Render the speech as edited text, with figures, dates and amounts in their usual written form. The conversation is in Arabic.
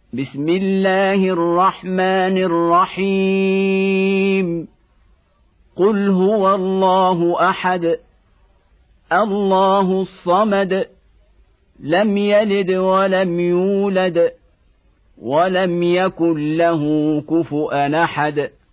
بسم الله الرحمن الرحيم قل هو الله أحد الله الصمد لم يلد ولم يولد ولم يكن له كفؤا أحد